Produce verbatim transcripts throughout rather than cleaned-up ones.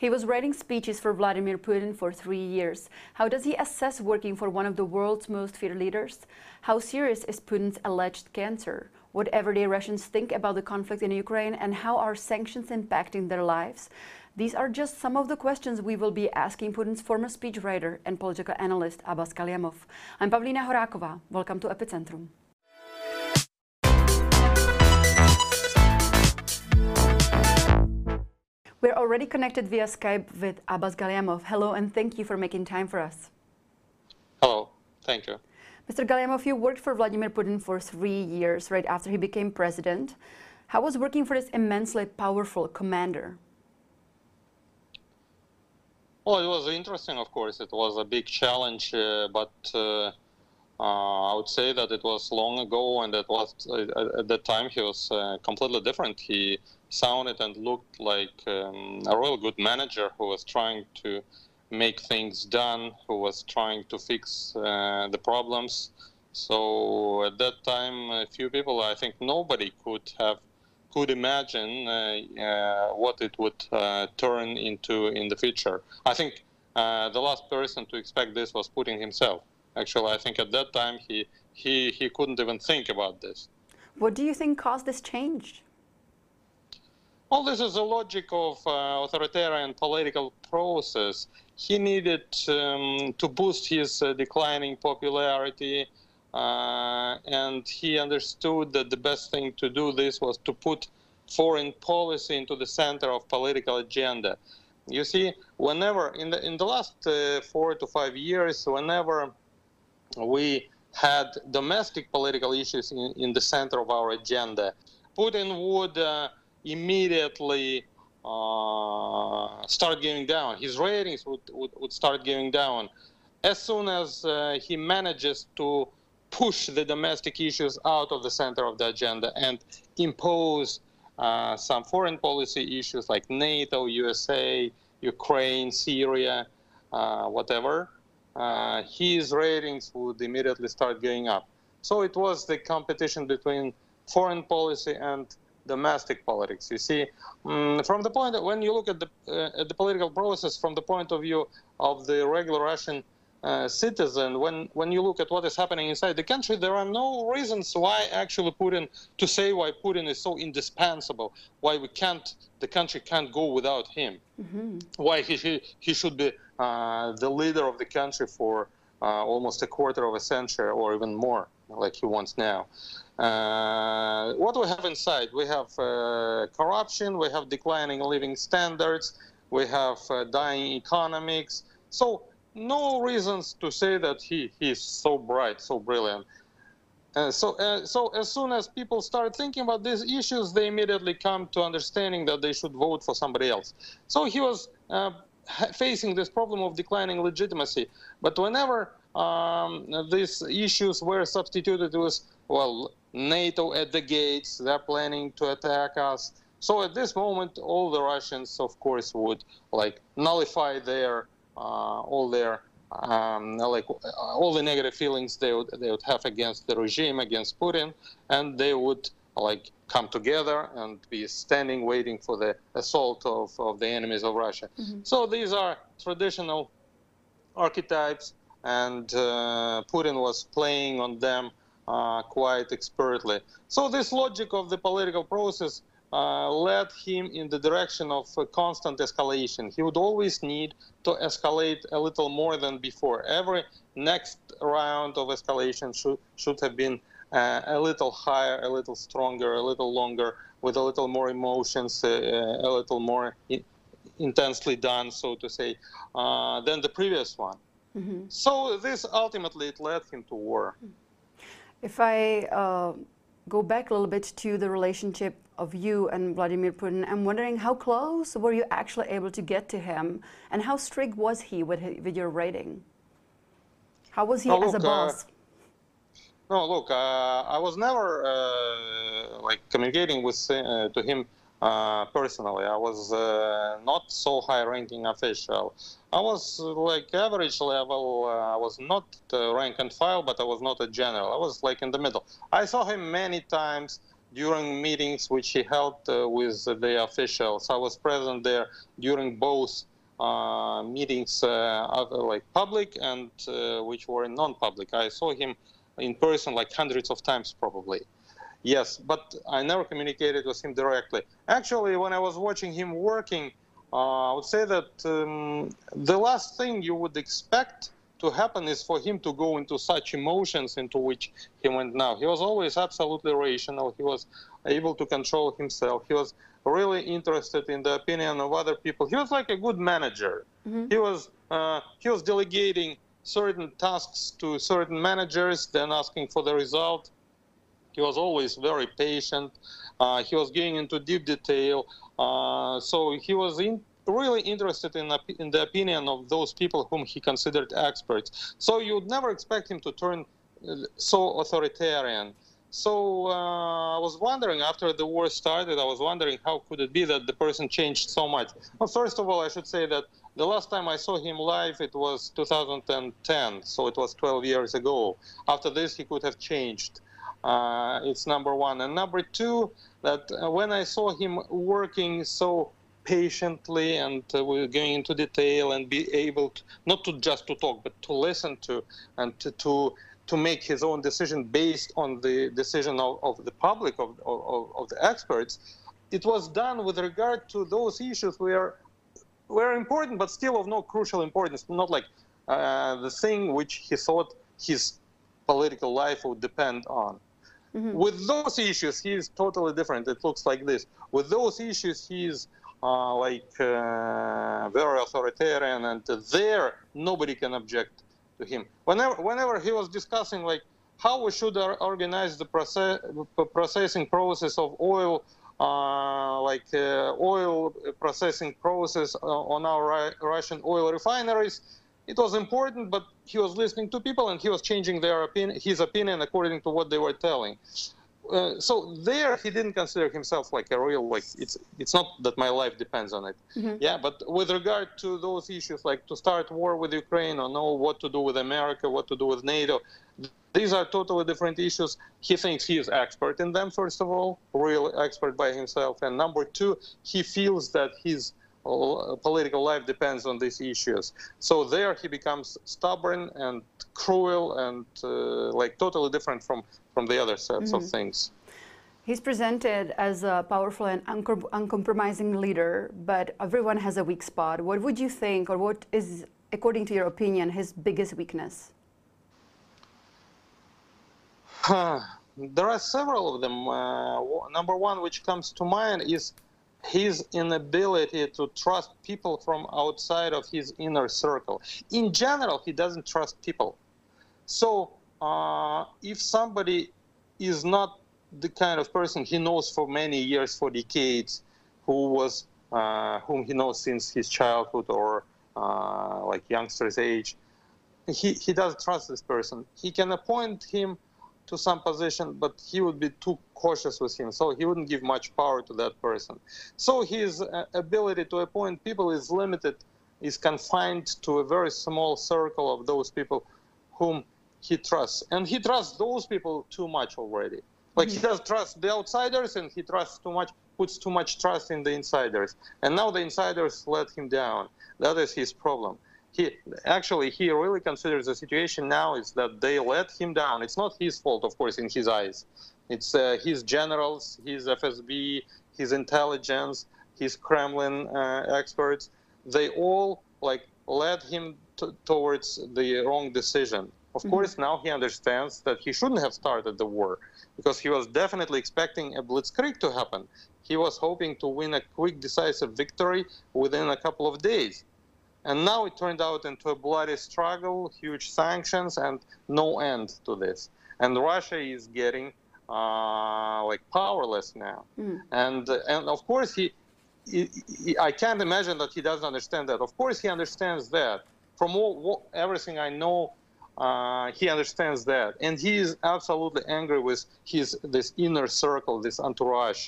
He was writing speeches for Vladimir Putin for three years. How does he assess working for one of the world's most feared leaders? How serious is Putin's alleged cancer? What everyday Russians think about the conflict in Ukraine, and how are sanctions impacting their lives? These are just some of the questions we will be asking Putin's former speechwriter and political analyst Abbas Galyamov. I'm Pavlína Horáková. Welcome to Epicentrum. We're already connected via Skype with Abbas Galyamov. Hello, and thank you for making time for us. Hello, thank you. Mister Galyamov, you worked for Vladimir Putin for three years, right after he became president. How was working for this immensely powerful commander? Well, it was interesting, of course. It was a big challenge, uh, but uh, uh, I would say that it was long ago, and that was uh, at that time he was uh, completely different. He sounded and looked like um, a real good manager who was trying to make things done, who was trying to fix uh, the problems. So at that time, a few people, I think nobody could have could imagine uh, uh, what it would uh, turn into in the future. I think uh, the last person to expect this was Putin himself. Actually, I think at that time he he he couldn't even think about this. What do you think caused this change? Well, this is the logic of uh, authoritarian political process. He needed um, to boost his uh, declining popularity, uh, and he understood that the best thing to do this was to put foreign policy into the center of political agenda. You see, whenever in the in the last uh, four to five years, whenever we had domestic political issues in, in the center of our agenda, Putin would uh, immediately uh, start going down. His ratings would, would, would start going down. As soon as uh, he manages to push the domestic issues out of the center of the agenda and impose uh, some foreign policy issues like NATO, U S A, Ukraine, Syria, uh, whatever, uh, his ratings would immediately start going up. So it was the competition between foreign policy and domestic politics. You see, um, from the point that when you look at the uh, at the political process from the point of view of the regular Russian uh, citizen, when when you look at what is happening inside the country, there are no reasons why actually Putin to say why Putin is so indispensable, why we can't the country can't go without him, mm-hmm. why he he, he should be uh, the leader of the country for uh, almost a quarter of a century or even more, like he wants now. Uh, what we have inside, we have uh, corruption, we have declining living standards, we have uh, dying economics. So no reasons to say that he he's so bright, so brilliant. Uh, so, uh, so as soon as people start thinking about these issues, they immediately come to understanding that they should vote for somebody else. So he was uh, facing this problem of declining legitimacy. But whenever um, these issues were substituted with, well, NATO at the gates, they're planning to attack us. So at this moment, all the Russians, of course, would like nullify their uh, all their um, like all the negative feelings they would they would have against the regime, against Putin, and they would like come together and be standing waiting for the assault of, of the enemies of Russia. Mm-hmm. So these are traditional archetypes, and uh, Putin was playing on them Uh, quite expertly. So this logic of the political process uh, led him in the direction of uh, constant escalation. He would always need to escalate a little more than before. Every next round of escalation should, should have been uh, a little higher, a little stronger, a little longer, with a little more emotions, uh, a little more in intensely done, so to say, uh, than the previous one. Mm-hmm. So this ultimately it led him to war. If I uh, go back a little bit to the relationship of you and Vladimir Putin, I'm wondering how close were you actually able to get to him, and how strict was he with, his, with your rating? How was he oh, as look, a boss? Uh, no, look, uh, I was never uh, like communicating with uh, to him uh, personally. I was uh, not so high-ranking official. I was uh, like average level. Uh, I was not uh, rank and file, but I was not a general. I was like in the middle. I saw him many times during meetings which he held uh, with the officials. I was present there during both uh, meetings, uh, other, like public and uh, which were non-public. I saw him in person like hundreds of times probably. Yes, but I never communicated with him directly. Actually, when I was watching him working, uh, I would say that um, the last thing you would expect to happen is for him to go into such emotions into which he went now. He was always absolutely rational. He was able to control himself. He was really interested in the opinion of other people. He was like a good manager. Mm-hmm. He was uh, he was delegating certain tasks to certain managers, then asking for the result. He was always very patient. Uh, he was getting into deep detail. Uh, so he was in, really interested in, in the opinion of those people whom he considered experts. So you would never expect him to turn so authoritarian. So uh, I was wondering, after the war started, I was wondering how could it be that the person changed so much. Well, first of all, I should say that the last time I saw him live, it was two thousand ten, so it was twelve years ago. After this, he could have changed. Uh, it's number one. And number two, that uh, when I saw him working so patiently and uh, going into detail and be able to, not to just to talk, but to listen to and to, to, to make his own decision based on the decision of, of the public, of, of, of the experts, it was done with regard to those issues where were important, but still of no crucial importance, not like uh, the thing which he thought his political life would depend on. Mm-hmm. With those issues, he is totally different. It looks like this. With those issues, he is uh, like uh, very authoritarian, and there nobody can object to him. Whenever, whenever he was discussing like how we should organize the process, processing process of oil, uh, like uh, oil processing process uh, on our Russian oil refineries, it was important, but he was listening to people and he was changing their opinion, his opinion according to what they were telling. Uh, so there he didn't consider himself like a real, like, it's it's not that my life depends on it. Mm-hmm. Yeah, but with regard to those issues, like to start war with Ukraine or know what to do with America, what to do with NATO, these are totally different issues. He thinks he is expert in them, first of all, real expert by himself. And number two, he feels that his political life depends on these issues. So there he becomes stubborn and cruel and uh, like totally different from, from the other sets mm-hmm. of things. He's presented as a powerful and uncom uncompromising leader, but everyone has a weak spot. What would you think, or what is, according to your opinion, his biggest weakness? There are several of them. Uh, number one, which comes to mind, is his inability to trust people from outside of his inner circle. In general, he doesn't trust people. So uh, if somebody is not the kind of person he knows for many years, for decades, who was, uh, whom he knows since his childhood or uh, like youngster's age, he, he doesn't trust this person. He can appoint him to some position, but he would be too cautious with him, so he wouldn't give much power to that person. So his uh, ability to appoint people is limited, is confined to a very small circle of those people whom he trusts. And he trusts those people too much already. Like mm-hmm. he does trust the outsiders, and he trusts too much, puts too much trust in the insiders. And now the insiders let him down. That is his problem. He, actually, he really considers the situation now is that they let him down. It's not his fault, of course, in his eyes. It's uh, his generals, his F S B, his intelligence, his Kremlin uh, experts. They all like led him towards the wrong decision. Of mm-hmm. course, now he understands that he shouldn't have started the war, because he was definitely expecting a blitzkrieg to happen. He was hoping to win a quick, decisive victory within a couple of days. And now it turned out into a bloody struggle, huge sanctions, and no end to this. And Russia is getting uh, like powerless now. Mm. And and of course he, he, he, I can't imagine that he doesn't understand that. Of course he understands that. From all, all, everything I know, uh, he understands that, and he is absolutely angry with his this inner circle, this entourage,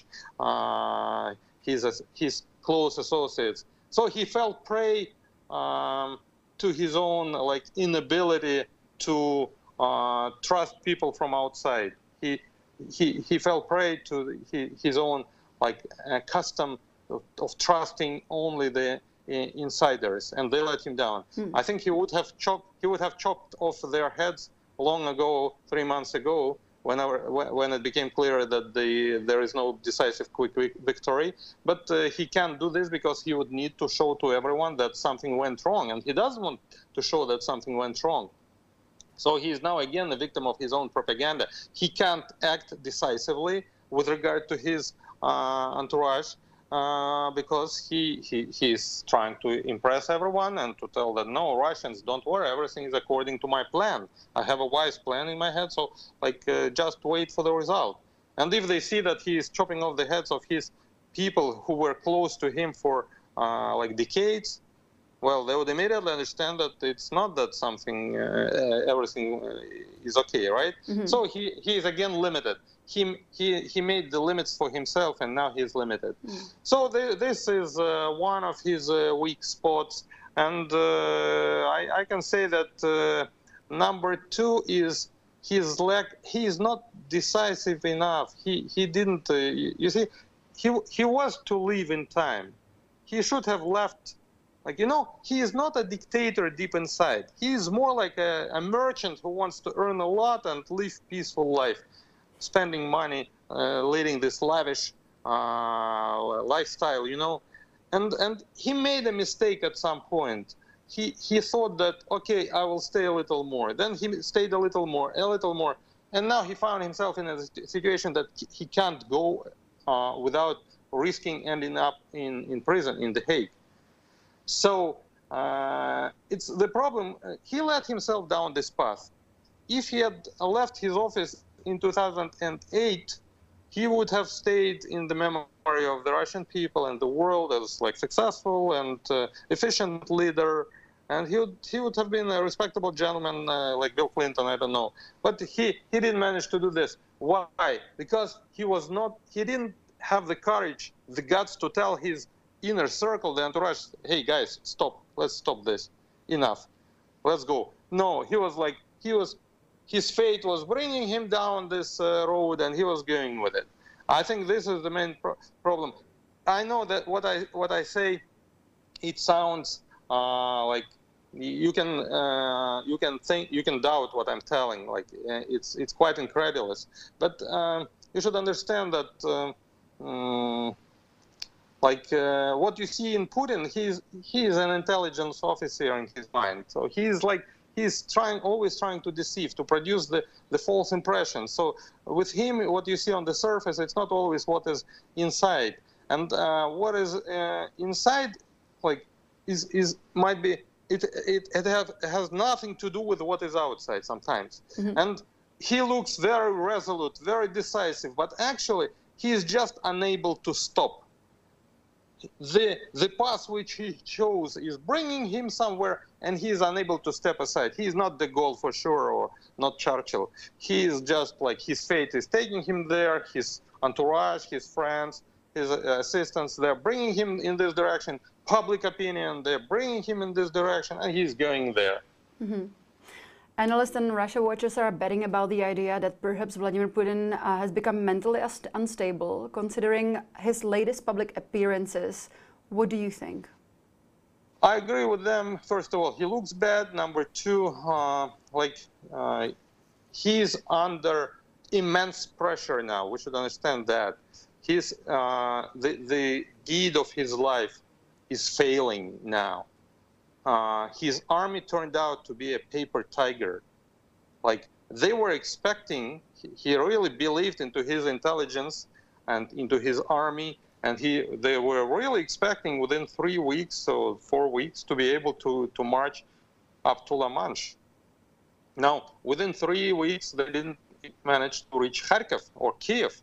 uh, his his close associates. So he fell prey Um, to his own like inability to uh, trust people from outside. He he he fell prey to he, his own like uh, custom of, of trusting only the i- insiders, and they let him down. Hmm. I think he would have chopped he would have chopped off their heads long ago, three months ago, whenever when it became clear that the there is no decisive quick victory. But uh, he can't do this because he would need to show to everyone that something went wrong, and he doesn't want to show that something went wrong. So he is now again a victim of his own propaganda. He can't act decisively with regard to his uh, entourage uh, because he, he he's trying to impress everyone and to tell that, no, Russians, don't worry, everything is according to my plan. I have a wise plan in my head, so like uh, just wait for the result. And if they see that he is chopping off the heads of his people who were close to him for uh, like decades, well, they would immediately understand that it's not that something, uh, everything is okay, right? Mm-hmm. So he, he is again limited. He, he, he made the limits for himself, and now he's limited. Mm-hmm. So the, this is uh, one of his uh, weak spots. And uh, I, I can say that uh, number two is his lack, he is not decisive enough. He, he didn't, uh, you see, he, he was to live in time. He should have left. Like, you know, he is not a dictator deep inside. He is more like a, a merchant who wants to earn a lot and live peaceful life, spending money, uh, leading this lavish uh, lifestyle, you know. And and he made a mistake at some point. He, he thought that, okay, I will stay a little more. Then he stayed a little more, a little more. And now he found himself in a situation that he can't go uh, without risking ending up in, in prison in The Hague. So uh, it's the problem. Uh, he let himself down this path. If he had left his office in two thousand eight, he would have stayed in the memory of the Russian people and the world as like successful and uh, efficient leader, and he would he would have been a respectable gentleman uh, like Bill Clinton. I don't know, but he he didn't manage to do this. Why? Because he was not. He didn't have the courage, the guts to tell his inner circle, the entourage, hey guys, stop, let's stop this, enough, let's go. No, he was like, he was, his fate was bringing him down this uh, road, and he was going with it. I think this is the main pro problem. I know that what I what I say, it sounds uh, like you can uh, you can think you can doubt what I'm telling. Like it's it's quite incredulous, but um, you should understand that. Uh, um, Like uh, what you see in Putin, he's he is an intelligence officer in his mind. So he's like he's trying, always trying to deceive, to produce the the false impression. So with him, what you see on the surface, it's not always what is inside. And uh, what is uh, inside, like, is is might be it it it have has nothing to do with what is outside sometimes. Mm-hmm. And he looks very resolute, very decisive, but actually he is just unable to stop. The, the path which he chose is bringing him somewhere, and he is unable to step aside. He is not de Gaulle for sure, or not Churchill. He is just like, his fate is taking him there, his entourage, his friends, his assistants, they're bringing him in this direction. Public opinion, they're bringing him in this direction, and he's going there. Mm-hmm. Analysts and Russia watchers are betting about the idea that perhaps Vladimir Putin uh, has become mentally unstable, considering his latest public appearances. What do you think? I agree with them. First of all, he looks bad. Number two, uh, like uh, he's under immense pressure now. We should understand that. He's, uh, the, the deed of his life is failing now. Uh, his army turned out to be a paper tiger. Like, they were expecting, he really believed into his intelligence and into his army, and he, they were really expecting within three weeks or four weeks to be able to, to march up to La Manche. Now, within three weeks, they didn't manage to reach Kharkiv or Kiev.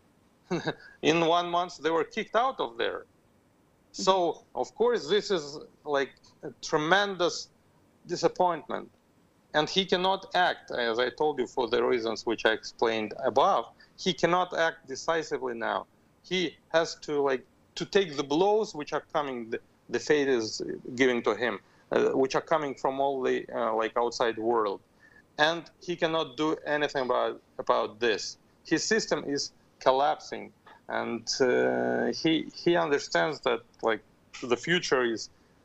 In one month, they were kicked out of there. So, of course, this is like a tremendous disappointment. And he cannot act, as I told you, for the reasons which I explained above. He cannot act decisively now. He has to, like, to take the blows which are coming, the, the fate is giving to him, uh, which are coming from all the, uh, like, outside world. And he cannot do anything about, about this. His system is collapsing. And uh, he he understands that, like, the future is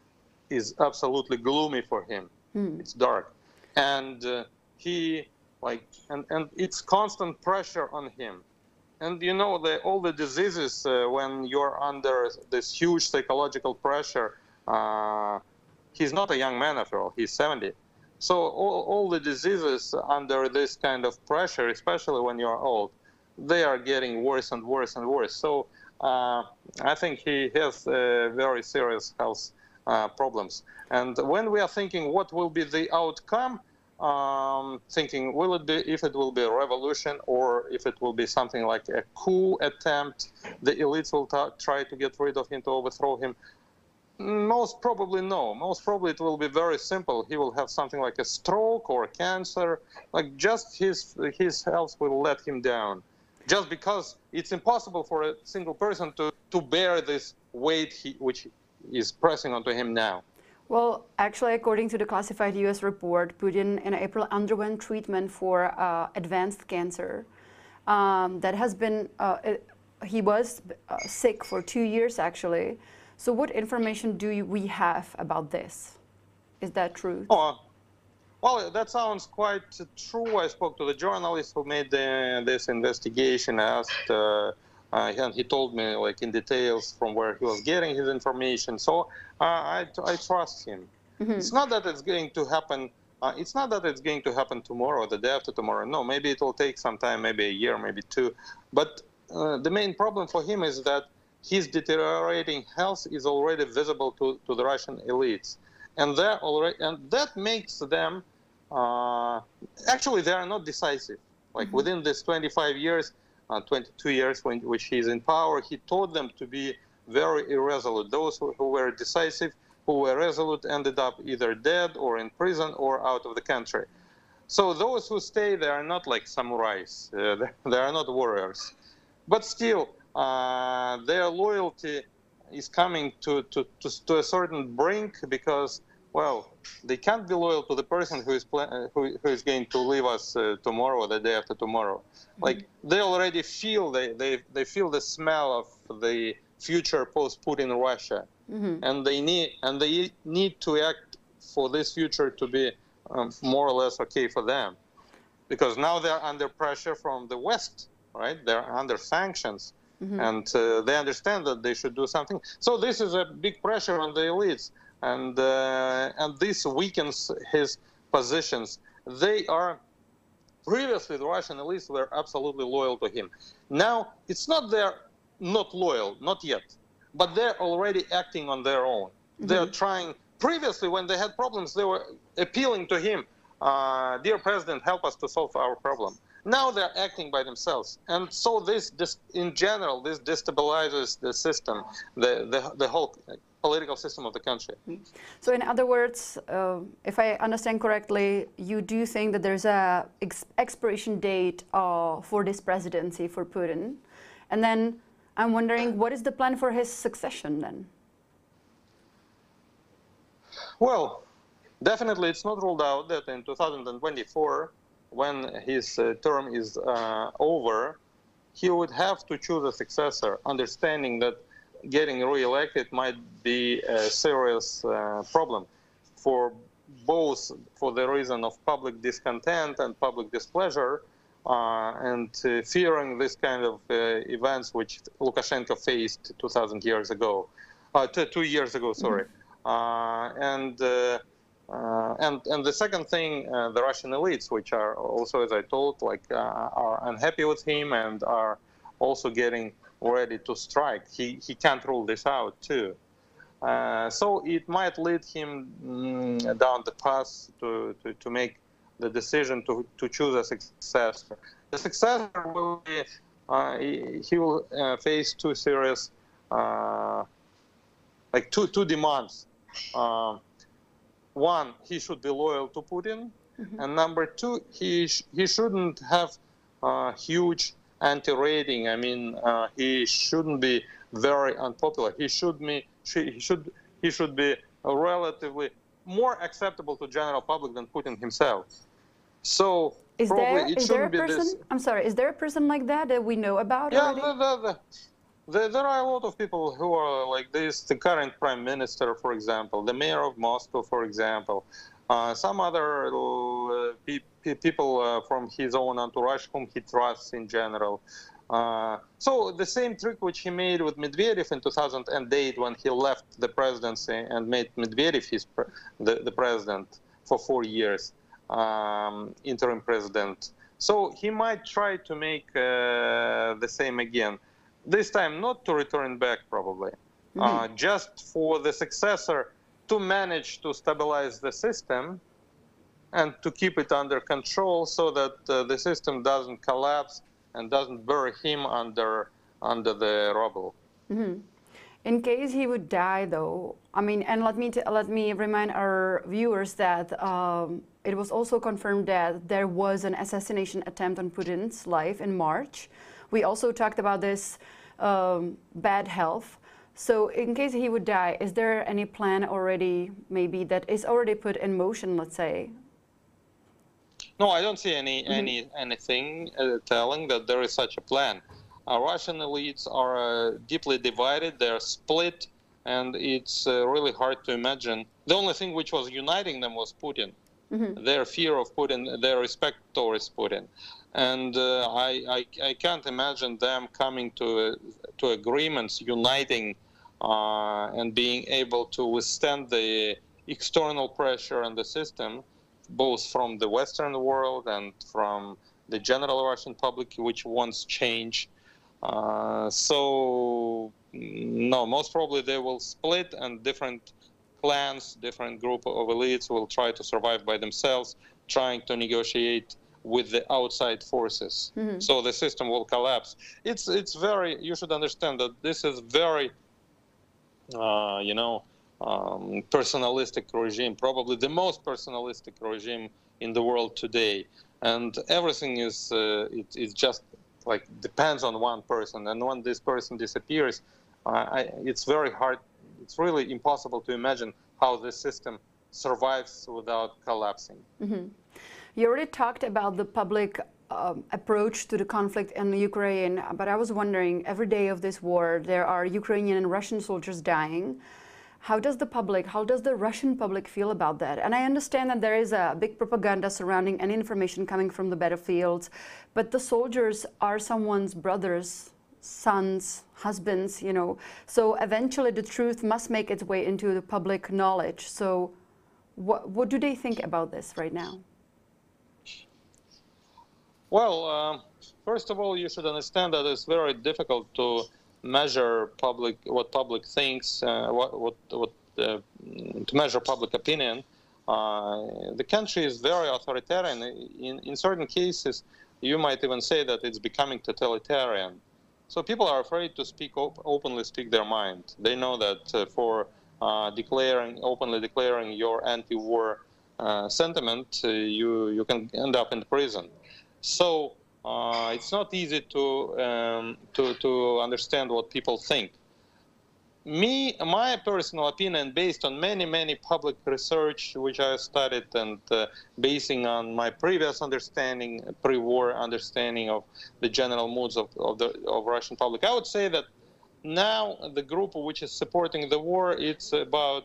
is absolutely gloomy for him. Mm. It's dark, and uh, he like and and it's constant pressure on him. And you know, the, all the diseases uh, when you're under this huge psychological pressure. Uh, he's not a young man after all; he's seventy. So all, all the diseases under this kind of pressure, especially when you're old, they are getting worse and worse and worse. So uh, I think he has uh, very serious health uh, problems. And when we are thinking what will be the outcome, um, thinking will it be, if it will be a revolution or if it will be something like a coup attempt, the elites will try to get rid of him, to overthrow him. Most probably no. Most probably it will be very simple. He will have something like a stroke or cancer. Like just his his health will let him down. Just because it's impossible for a single person to, to bear this weight he, which is pressing onto him now. Well, actually, according to the classified U S report, Putin in April underwent treatment for uh, advanced cancer. Um, that has been, uh, it, he was uh, sick for two years actually. So what information do you, we have about this? Is that true? Oh, well, that sounds quite true. I spoke to the journalist who made the, this investigation, asked, uh, uh, and he told me like in details from where he was getting his information. So uh, I, I trust him. Mm-hmm. It's not that it's going to happen. Uh, it's not that it's going to happen tomorrow or the day after tomorrow. No, maybe it will take some time, maybe a year, maybe two. But uh, the main problem for him is that his deteriorating health is already visible to, to the Russian elites. And, already, and that makes them, uh, actually they are not decisive. Like mm-hmm. within this twenty-five years, uh, twenty-two years when, which he is in power, he taught them to be very irresolute. Those who, who were decisive, who were resolute, ended up either dead or in prison or out of the country. So those who stay, they are not like samurais. Uh, they, they are not warriors. But still, Uh, their loyalty is coming to, to, to, to a certain brink because, well, they can't be loyal to the person who is, who, who is going to leave us uh, tomorrow or the day after tomorrow. Mm-hmm. Like, they already feel, they, they, they feel the smell of the future post-Putin Russia. Mm-hmm. And they need, and they need to act for this future to be um, more or less okay for them. Because now they're under pressure from the West, right? They're under sanctions. Mm-hmm. And uh, they understand that they should do something. So this is a big pressure on the elites, and uh, and this weakens his positions. They are, previously the Russian elites were absolutely loyal to him. Now, it's not they're not loyal, not yet, but they're already acting on their own. Mm-hmm. They're trying, previously when they had problems, they were appealing to him, uh, dear President, help us to solve our problem. Now they're acting by themselves, and so this, this, in general, this destabilizes the system, the, the, the whole political system of the country. So in other words, uh, if I understand correctly, you do think that there's a ex expiration date uh, for this presidency for Putin, and then I'm wondering, what is the plan for his succession then? Well, definitely it's not ruled out that in two thousand twenty-four, when his uh, term is uh, over, he would have to choose a successor, understanding that getting re-elected might be a serious uh, problem for both for the reason of public discontent and public displeasure, uh, and uh, fearing this kind of uh, events which Lukashenko faced two thousand years ago, uh, two, two years ago, sorry. Mm-hmm. uh, and uh, Uh, and, and the second thing, uh, the Russian elites, which are also, as I told, like uh, are unhappy with him and are also getting ready to strike. He, he can't rule this out too. Uh, so it might lead him mm, down the path to, to, to make the decision to, to choose a successor. The successor will be, uh, he, he will uh, face two serious, uh, like two, two demands. Uh, One, he should be loyal to Putin, mm-hmm. and number two, he sh he shouldn't have uh, huge anti-rating. I mean, uh, he shouldn't be very unpopular. He should be he should he should be relatively more acceptable to general public than Putin himself. So is probably there it is there a shouldn't be person? this. I'm sorry. Is there a person like that that we know about Yeah, already? the, the, the, There, there are a lot of people who are like this. The current prime minister, for example, the mayor of Moscow, for example, uh, some other uh, pe pe people uh, from his own entourage whom he trusts in general. Uh, so the same trick which he made with Medvedev in two thousand eight when he left the presidency and made Medvedev his pre the, the president for four years, um, interim president. So he might try to make uh, the same again. This time not to return back probably, mm-hmm. uh, just for the successor to manage to stabilize the system and to keep it under control so that uh, the system doesn't collapse and doesn't bury him under under the rubble. Mm-hmm. In case he would die, though, I mean, and let me t let me remind our viewers that um, it was also confirmed that there was an assassination attempt on Putin's life in March. We also talked about this um, bad health. So, in case he would die, is there any plan already, maybe that is already put in motion? Let's say. No, I don't see any Mm-hmm. any anything uh, telling that there is such a plan. Uh, Russian elites are uh, deeply divided; they're split, and it's uh, really hard to imagine. The only thing which was uniting them was Putin, mm-hmm. their fear of Putin, their respect towards Putin, and uh, I, I I can't imagine them coming to uh, to agreements, uniting, uh, and being able to withstand the external pressure on the system, both from the Western world and from the general Russian public, which wants change. Uh, so, no, most probably they will split, and different clans, different group of elites will try to survive by themselves, trying to negotiate with the outside forces. Mm-hmm. So the system will collapse. It's, it's very, you should understand that this is very, uh, you know, Um, personalistic regime, probably the most personalistic regime in the world today, and everything is uh, it, it just like depends on one person, and when this person disappears, uh, I, it's very hard, it's really impossible to imagine how this system survives without collapsing. Mm-hmm. You already talked about the public um, approach to the conflict in Ukraine, but I was wondering, every day of this war there are Ukrainian and Russian soldiers dying. How does the public, how does the Russian public feel about that? And I understand that there is a big propaganda surrounding any information coming from the battlefields, but the soldiers are someone's brothers, sons, husbands, you know. So eventually the truth must make its way into the public knowledge. So what, what do they think about this right now? Well, uh, first of all, you should understand that it's very difficult to measure public what public thinks, uh, what what what uh, to measure public opinion. Uh, the country is very authoritarian. In in certain cases, you might even say that it's becoming totalitarian. So people are afraid to speak op openly, speak their mind. They know that uh, for uh, declaring openly declaring your anti-war uh, sentiment, uh, you you can end up in prison. So. Uh, it's not easy to, um, to to understand what people think. Me, my personal opinion, based on many many public research which I studied, and uh, basing on my previous understanding, pre-war understanding of the general moods of, of the of Russian public, I would say that now the group which is supporting the war, it's about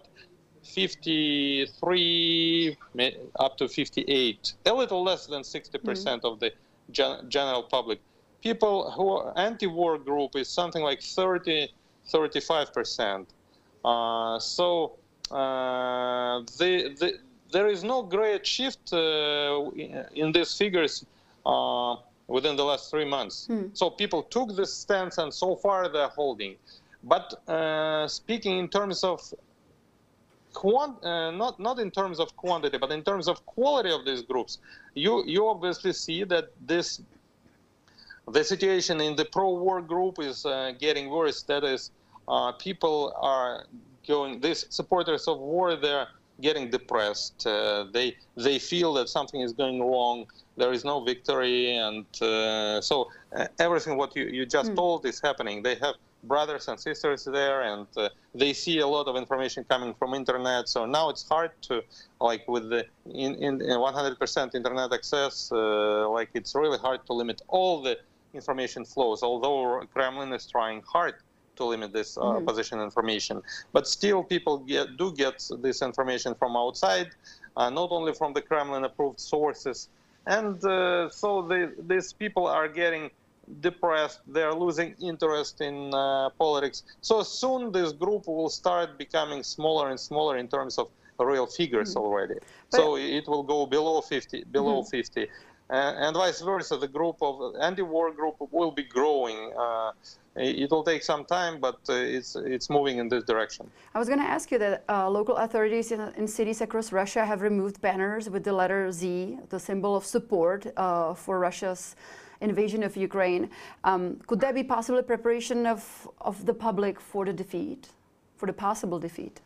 fifty-three up to fifty-eight, a little less than sixty percent mm. of the Gen general public. People who are anti-war group is something like thirty, thirty-five percent. Uh, so uh, the, the, there is no great shift uh, in these figures uh, within the last three months. Hmm. So people took this stance, and so far they're holding. But uh, speaking in terms of Quant, uh, not not in terms of quantity, but in terms of quality of these groups, you you obviously see that this the situation in the pro-war group is uh, getting worse. That is, uh, people are going. These supporters of war, they're getting depressed. Uh, they they feel that something is going wrong. There is no victory, and uh, so uh, everything what you you just mm. told is happening. They have brothers and sisters there, and uh, they see a lot of information coming from internet. So now it's hard to, like with the in in one hundred percent internet access, uh, like it's really hard to limit all the information flows. Although Kremlin is trying hard to limit this uh, Mhm. opposition information. But still, people get, do get this information from outside, uh, not only from the Kremlin-approved sources. And uh, so they, these people are getting depressed. They're losing interest in uh, politics. So soon this group will start becoming smaller and smaller in terms of real figures Mhm. already. But- So it will go below fifty, below Mhm. fifty. Uh, and vice versa, the group of anti-war group will be growing. Uh, it will take some time, but uh, it's it's moving in this direction. I was going to ask you that uh, local authorities in, in cities across Russia have removed banners with the letter Z, the symbol of support uh, for Russia's invasion of Ukraine. Um, could that be possibly preparation of, of the public for the defeat, for the possible defeat?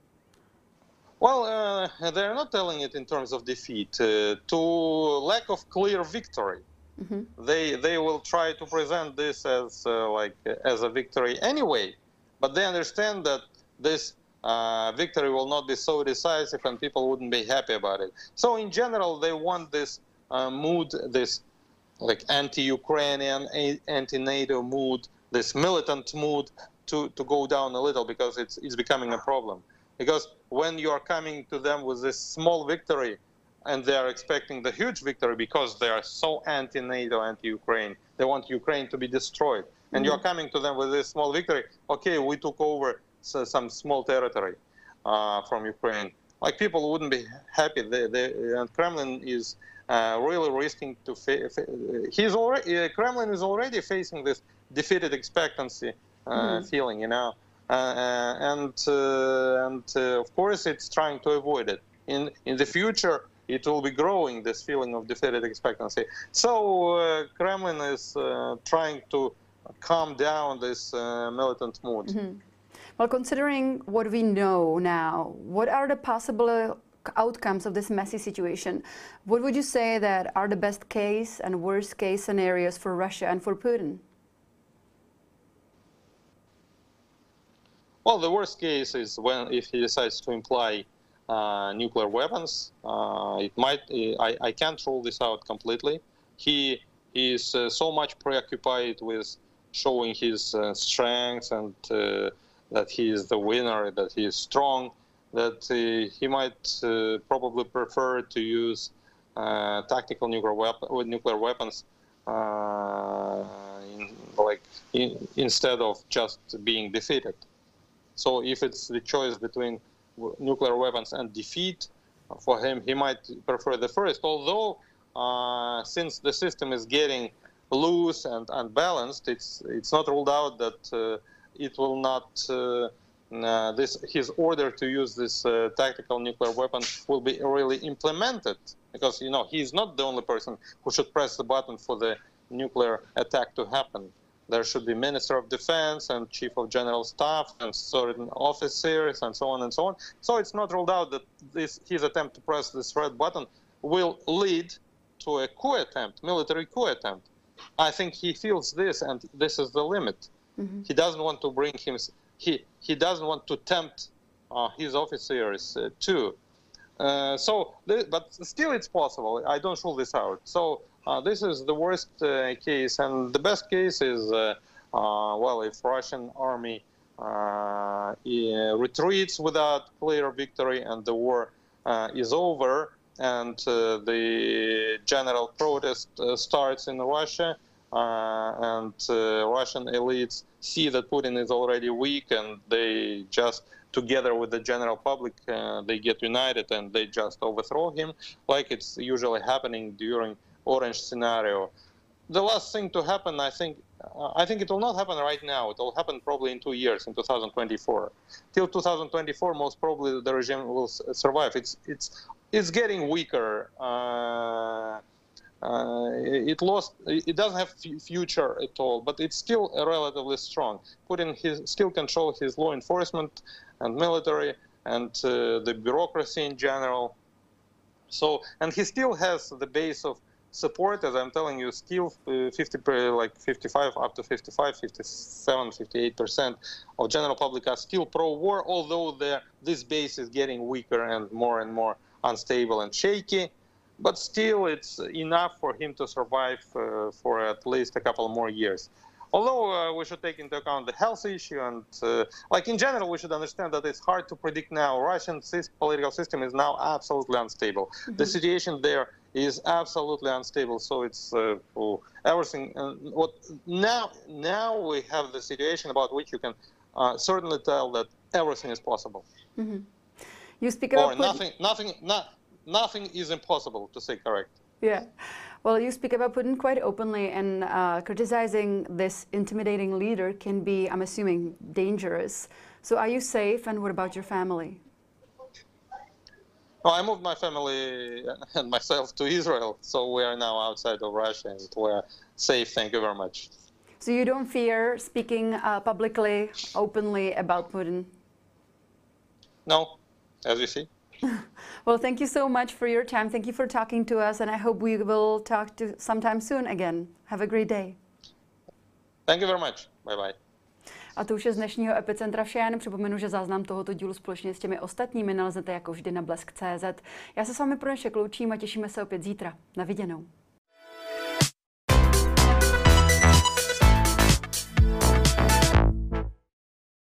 Well, uh, they're not telling it in terms of defeat. Uh, to lack of clear victory, Mm-hmm. they they will try to present this as uh, like as a victory anyway, but they understand that this uh, victory will not be so decisive and people wouldn't be happy about it. So in general, they want this uh, mood, this like anti-Ukrainian, anti-NATO mood, this militant mood to, to go down a little, because it's it's becoming a problem. Because when you are coming to them with this small victory, and they are expecting the huge victory because they are so anti-NATO, anti-Ukraine, they want Ukraine to be destroyed. And Mm-hmm. you're coming to them with this small victory. Okay, we took over so, some small territory uh, from Ukraine. Like, people wouldn't be happy. They, they, and Kremlin is uh, really risking to. Fa- fa- he's already uh, Kremlin is already facing this defeated expectancy uh, Mm-hmm. feeling, you know, uh, and uh, and uh, of course it's trying to avoid it. In in the future, it will be growing, this feeling of defeated expectancy. So uh, Kremlin is uh, trying to calm down this uh, militant mood. Mm-hmm. Well, considering what we know now, what are the possible outcomes of this messy situation? What would you say that are the best case and worst case scenarios for Russia and for Putin? Well, the worst case is when if he decides to imply uh, nuclear weapons. Uh, it might. I, I can't rule this out completely. He, he is uh, so much preoccupied with showing his uh, strengths and uh, that he is the winner, that he is strong, that uh, he might uh, probably prefer to use uh, tactical nuclear, weapon, nuclear weapons uh, in, like in, instead of just being defeated. So if it's the choice between nuclear weapons and defeat, for him, he might prefer the first. Although, uh, since the system is getting loose and unbalanced, it's it's not ruled out that uh, it will not. Uh, uh, this his order to use this uh, tactical nuclear weapon will be really implemented, because you know he's not the only person who should press the button for the nuclear attack to happen. There should be Minister of Defense and Chief of General Staff and certain officers and so on and so on. So it's not ruled out that this his attempt to press this red button will lead to a coup attempt, military coup attempt. I think he feels this, and this is the limit. Mm-hmm. He doesn't want to bring him. He he doesn't want to tempt uh, his officers uh, too. Uh, so, but still, it's possible. I don't rule this out. So. Uh, this is the worst uh, case, and the best case is, uh, uh, well, if Russian army uh, retreats without clear victory and the war uh, is over, and uh, the general protest uh, starts in Russia, uh, and uh, Russian elites see that Putin is already weak, and they just, together with the general public, uh, they get united and they just overthrow him, like it's usually happening during Orange scenario. The last thing to happen, I think, uh, I think it will not happen right now. It will happen probably in two years, in two thousand twenty-four. Till two thousand twenty-four, most probably the regime will survive. It's it's it's getting weaker. Uh, uh, it lost. It doesn't have future at all, but it's still relatively strong. Putin his, still control his law enforcement and military and uh, the bureaucracy in general. So, and he still has the base of support, as I'm telling you, still uh, fifty, like fifty-five, up to fifty-five, fifty-seven, fifty-eight percent of general public are still pro-war, although this base is getting weaker and more and more unstable and shaky. But still, it's enough for him to survive uh, for at least a couple more years. Although uh, we should take into account the health issue and, uh, like in general, we should understand that it's hard to predict now. Russian sy- political system is now absolutely unstable. Mm-hmm. The situation there is absolutely unstable. So it's uh, oh, everything. Uh, what now? Now we have the situation about which you can uh, certainly tell that everything is possible. Mm-hmm. You speak or about nothing. Nothing. Not, nothing is impossible, to say correct. Yeah. Well, you speak about Putin quite openly, and uh, criticizing this intimidating leader can be, I'm assuming, dangerous. So are you safe, and what about your family? Oh, I moved my family and myself to Israel, so we are now outside of Russia and we're safe. Thank you very much. So you don't fear speaking uh, publicly, openly about Putin? No, as you see. Well, thank you so much for your time. Thank you for talking to us, and I hope we will talk to sometime soon again. Have a great day. Thank you very much. Bye bye. A to už je z dnešního Epicentra vše. Já jen připomenu, že záznam tohoto dílu společně s těmi ostatními nalezete jako vždy na blesk tečka cé zet. Já se s vámi pro dnešek loučím a těšíme se opět zítra. Na viděnou.